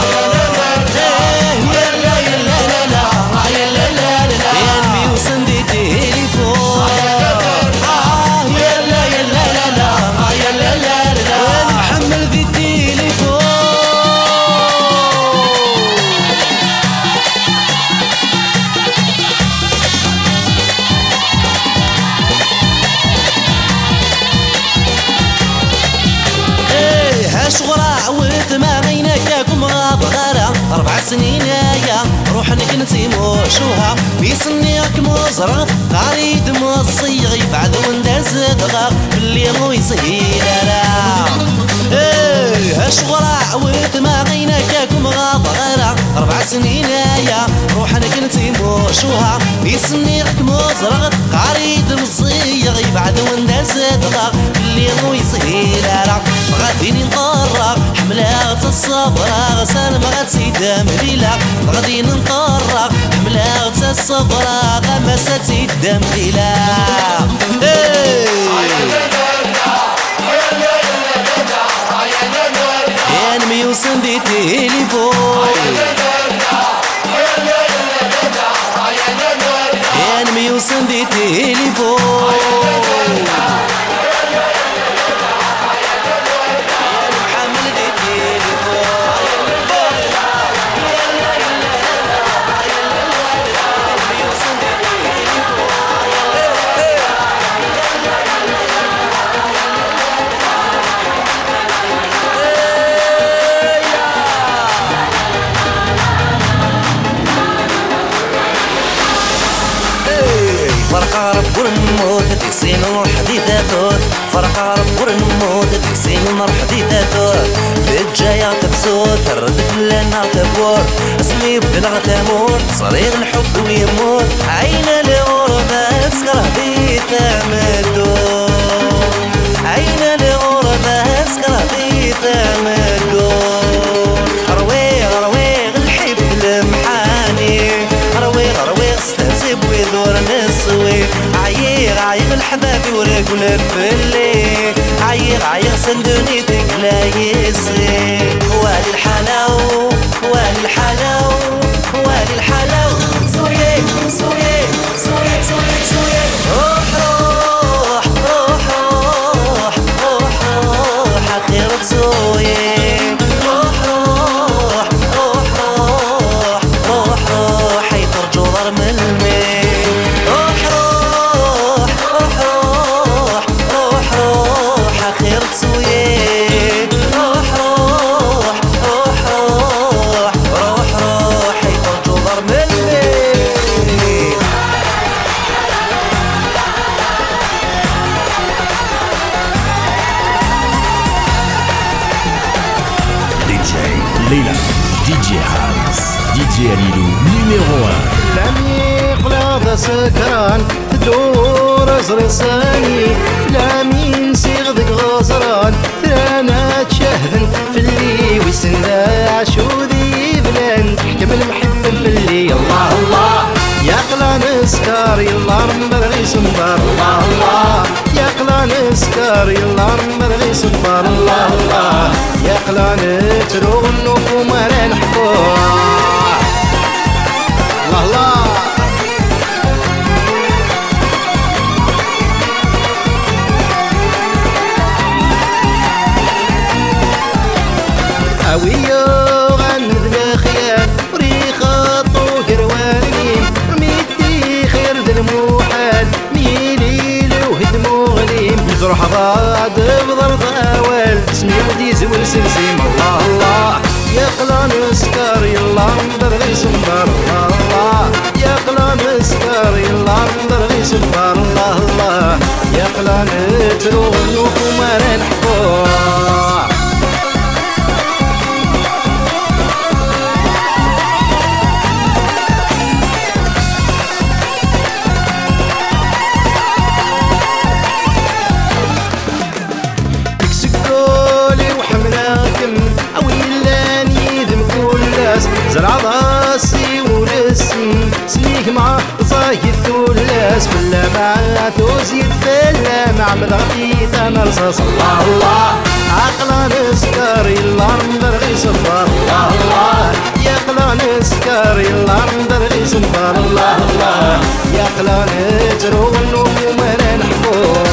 شغرا وثما غيناكاكم غابغارة أربع سنين يا روح نكنتي موشوها بيسنيك مزرغ قريد مصيغي بعد ونداز دغاغ باللي مو يسهيلا ايه شغرا وثما غيناكاكم غابغارة أربع سنين يا روح نكنتي موشوها بيسنيك مزرغ قريد مصيغي بعد ونداز دغاغ باللي مو يسهيلا غاديني نطرق حملات الصبر غسال ما غتسيد مليلة غادي نطرق حملات الصبرا غمست الدم بلا يا نميوسن دي تليفون يا نميوسن دي تليفون فرقة رب ونموت تكسين نروح حديثة ثوث فرقة رب ونموت تكسين نروح حديثة ثوث بالجاية تبسوط ترد في النار تبور اسمي بلغة تموت صريغ الحب ويموت عين الغربة تسكر حديثة مدور عين الغربة تسكر حديثة مدور رويغ رويغ الحب المحاني رويغ رويغ استهزب ويدور نسوي عيغ عيغ الحبابي ورقل الفلي عيغ عيغ سندوني تقلا يسي والي الحلاو والي الحلاو والي الحلاو سوية سوية سوية سوية سوية روح روح روح روح روح روح أخيرك سوية روح روح روح روح روح روح حيطر جوهر من المي روح روح روح روح روح روح أخيرك سوية روح روح روح روح روح روح حيطر جوهر من المي دي جي ليلى دي جي هاوس دي جي ليلو numéro un. لم يقلب سكران تدور ازري صاني فلامين سيغدك غزران ثلانا تشهدن في اللي ويسنا عشودي بلان تحكم المحب في اللي الله الله يا قلا نسكر يلا نبغي سنبار الله الله يا قلا نسكر يلا نبغي سنبار الله الله يا قلا نتروغ النفوم وانا نحبوه الله الله هاوية غند الخيال وريخة طوق رواني رميتي خير ذا الموحال ميلي لوهد مغليم يزرح ضاد بضرب اوال اسمي ودي زول سلسيم الله الله يا قلا نسكر يلا نبغي سنبار الله الله يا قلا نسكر يلا نبغي سنبار الله الله يا قلا نتروغ النفوم وانا نحبوه زرع راسي ورسم سليك مع صايد الثلاث فلا مع توزيد فلا مع مدغتي ثمن رصاص الله الله عقلا نسكر يلا نبغي صفار الله الله يا قلا نسكر يلا نبغي صفار الله الله يا قلا نتروغ النفوم وانا نحبوه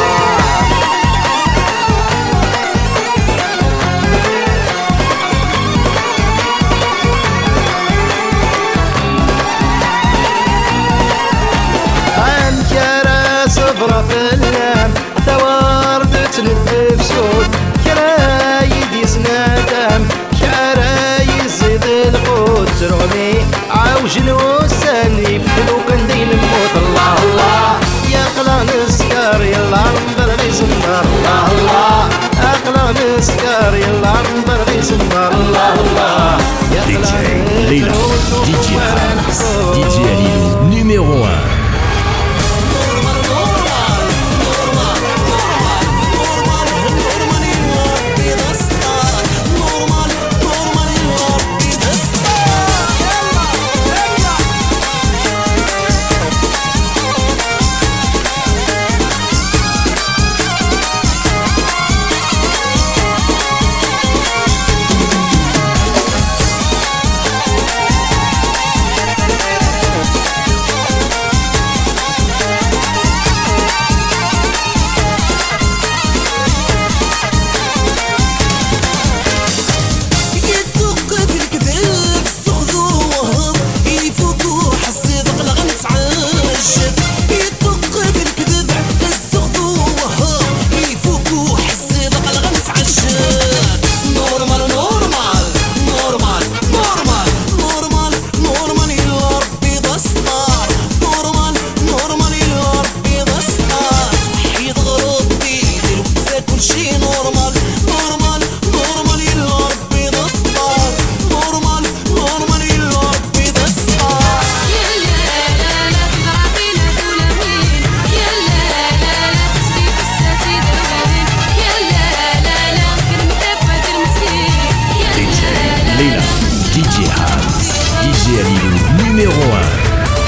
صبرة في اللام ثوارد تنف سود كرايد يسنادم كرايد زيد القوت ترغمي عاوج الوساني فتلو كندين الموت الله الله يا قلا نسكر يلا نبغي سنبار الله الله أقلا نسكر يلا نبغي سنبار الله الله يا قلا ليلى دي جي هاوس دي جي ليلو numéro un. D J Alilou numéro un.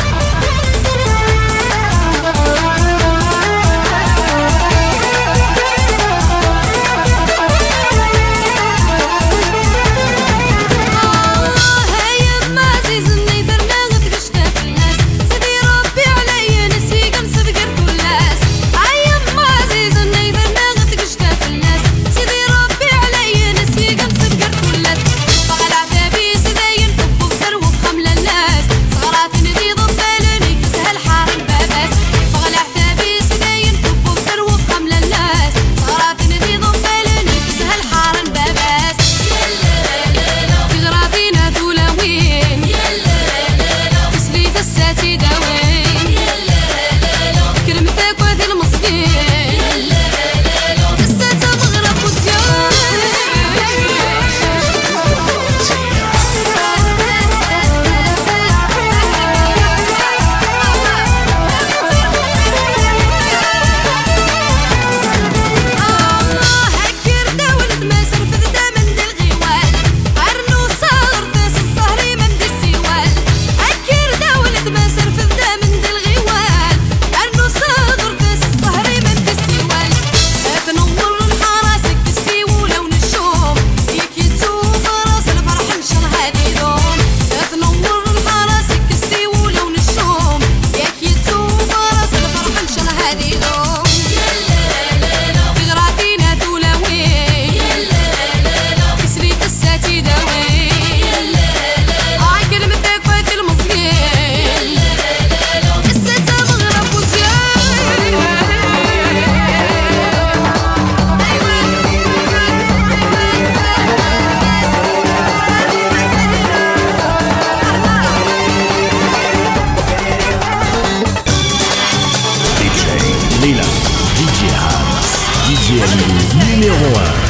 D J Alilou numéro un.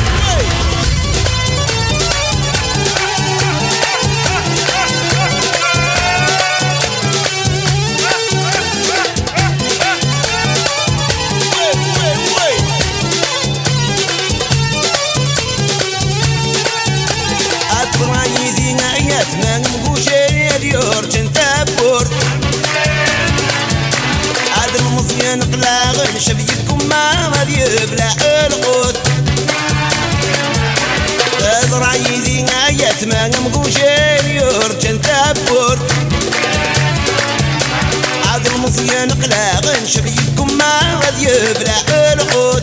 شبيكم ما غادي يبلع القوت تزرع يدي آيات ما نمقوشين يرجن تبور عاد المصيان قلاغن شبيكم ما غادي يبلع القوت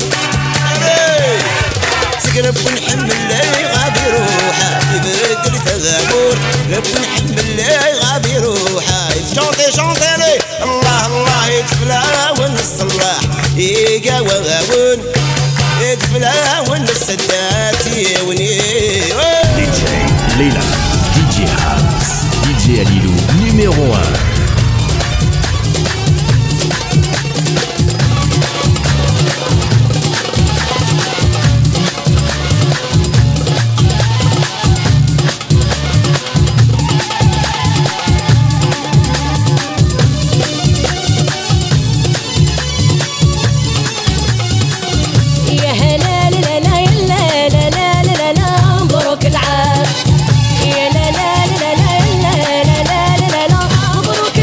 سقرب ونحمل لي غادي روحه يبرد لي تغامور رب نحمل لي غادي روحه شونطي شونطي لي الله الله يتفلا ونصلح يقا وغاون يتفلا ونسدات يوني D J Leila, D J Hams, D J Alilou numéro un. مبروك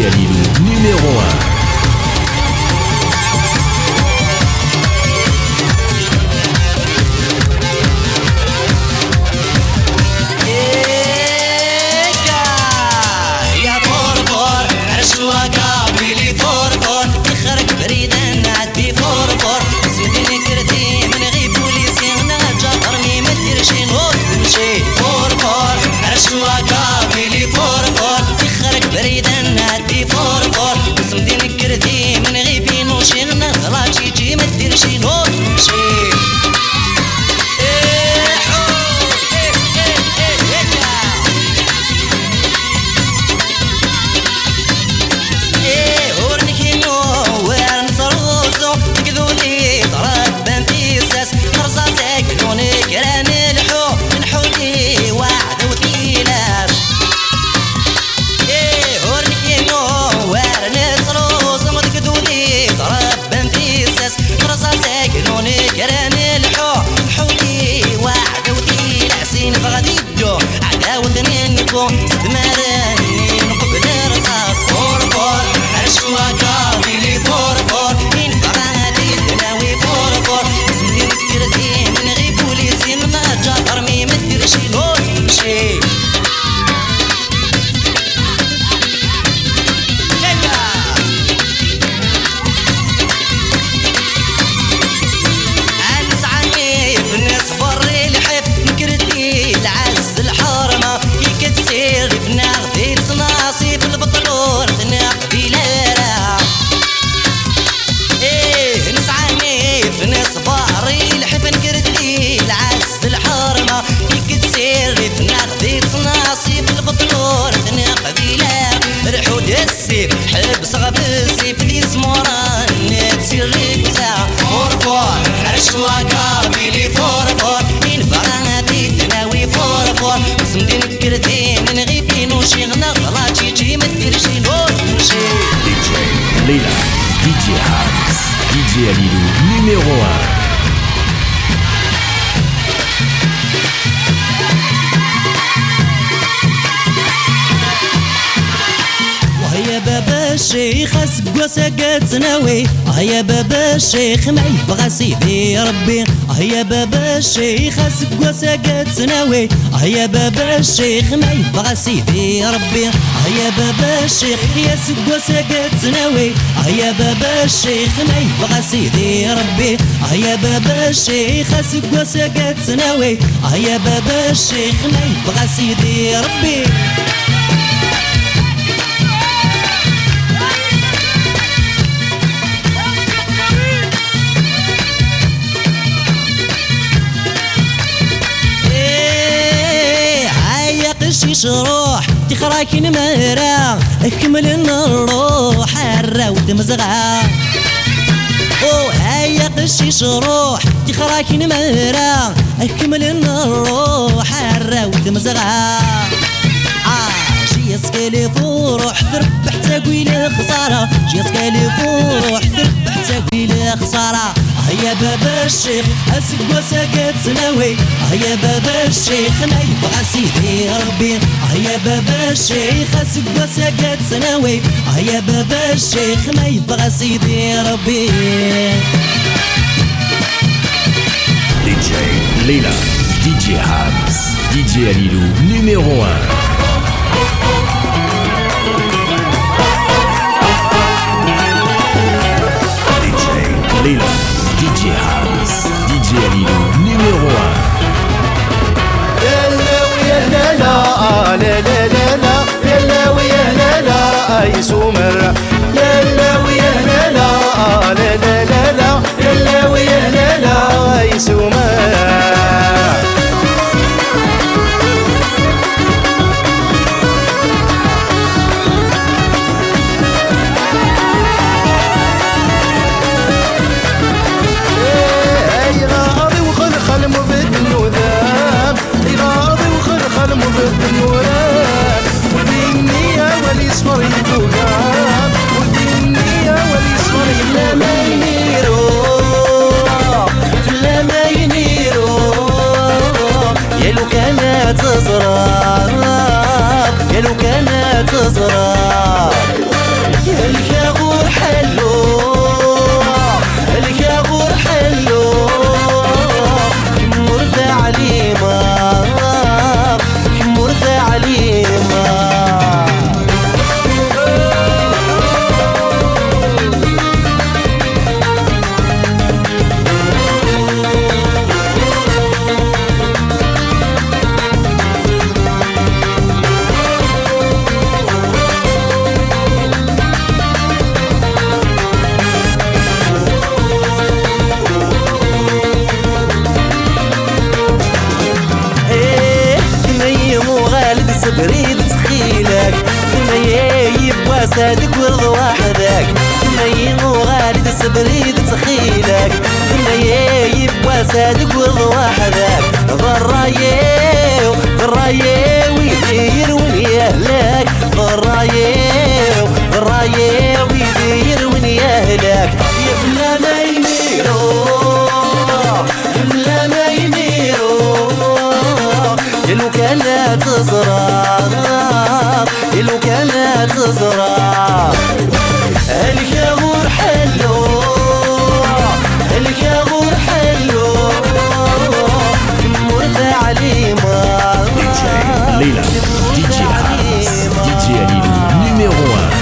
J Alilou, numéro un. Leila, D J Habs, D J Alilou, numéro un. وهيا بابا الشيخ اسق وسقت سناوي هيا بابا الشيخ ما يبغى سيدي ربي هيا بابا الشيخ اسق وسقت سناوي هيا بابا الشيخ ما يبغى سيدي ربي هيا بابا الشيخ يسق وسقت سناوي هيا بابا الشيخ ما يبغى سيدي ربي هيا بابا الشيخ اسق وسقت سناوي هيا بابا الشيخ ما يبغى سيدي ربي قشيش روح تخراك نمرة اكمل الروح الراود مزغة او هيا قشيش روح تخراك نمرة اكمل الروح الراود مزغة جيسكالي فروح تربح تقوي خسارة جيسكالي فروح تربح تقوي خسارة هيا بابا الشيخ اسق وسقت سناوي هيا بابا الشيخ ما يبغى سيدي ربي هيا بابا الشيخ اسق وسقت سناوي هيا بابا الشيخ ما يبغى سيدي ربي D J Leila, D J Habs, D J Alilou, numéro un. Leila, D J Habs, D J Alilou, numéro un. يلا ويا لا لا لا لا لا لا يلا ويا لا لا اي سمر يلا ويا لا لا لا لا لا لا يلا ويا لا لا اي سمر المضد النوران والنية واليسمر يدوغان وسادك ورض وحدك ثنيا وغالي تسبريد تخيلك ثنيا وسادك ورض وحدك ضرايو ضرايو ويدير وين يهلك ضرايو ضرايو ويدير وين يهلك يا بلا ما يميرو يا بلا ما يميرو يا لو كان لا تزرع يا لو كان لا تزرع الكابور حلو الكابور حلو مرتاح علي ما دي جي ليلى دي جي هاوس دي جي ليلو numéro un.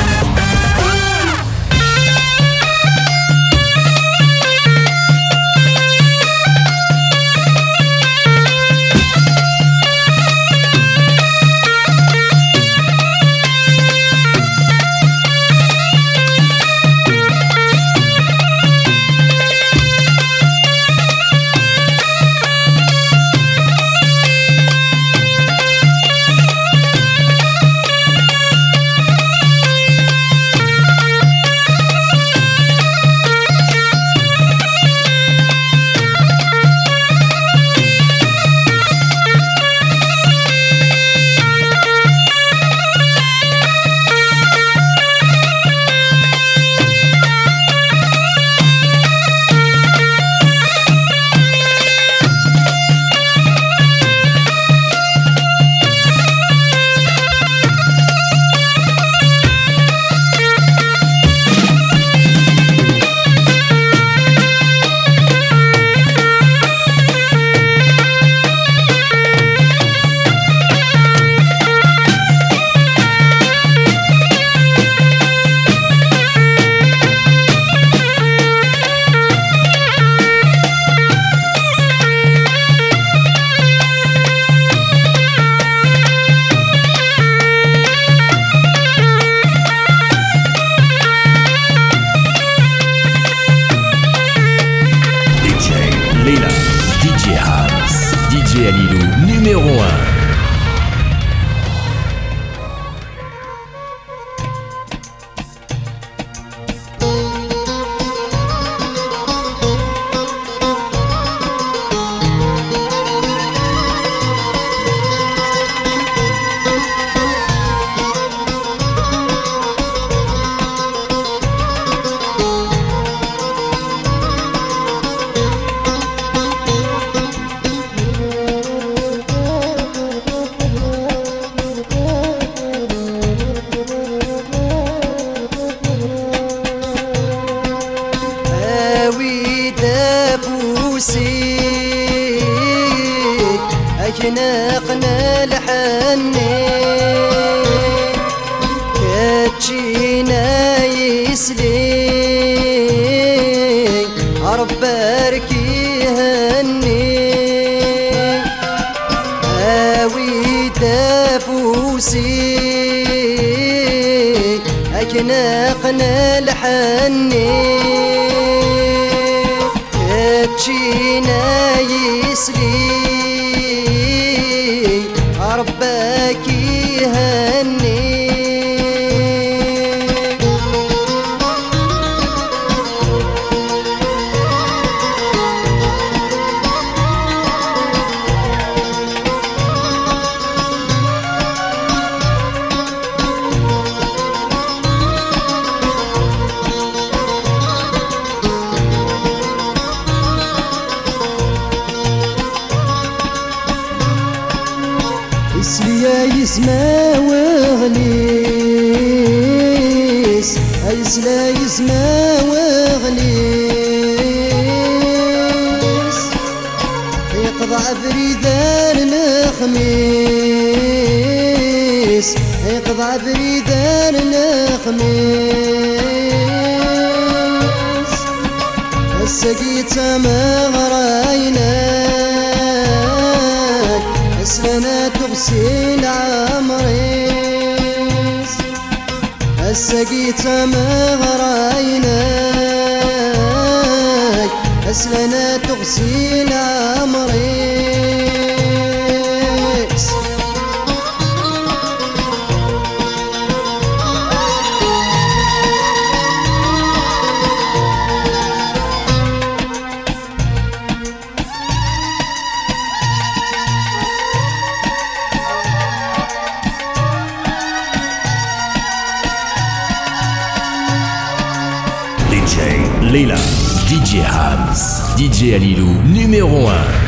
Leila, D J House, D J Alilou, numéro un. أجناقنا الحني كاتشينا يسلي عرب باركي هني هاوي تافوسي أجناقنا الحني كاتشينا يسلي ربك يهني يا يسمى وغليس يسلا يسمى وغليس يقضى بريدان الخميس يقضى بريدان الخميس السقيت ما غرايناك أسلنا تغسل عمريس السقيت ما غرايناك أسلنا تغسل عمريس D J Leila, D J Hams, D J Alilou, numéro un.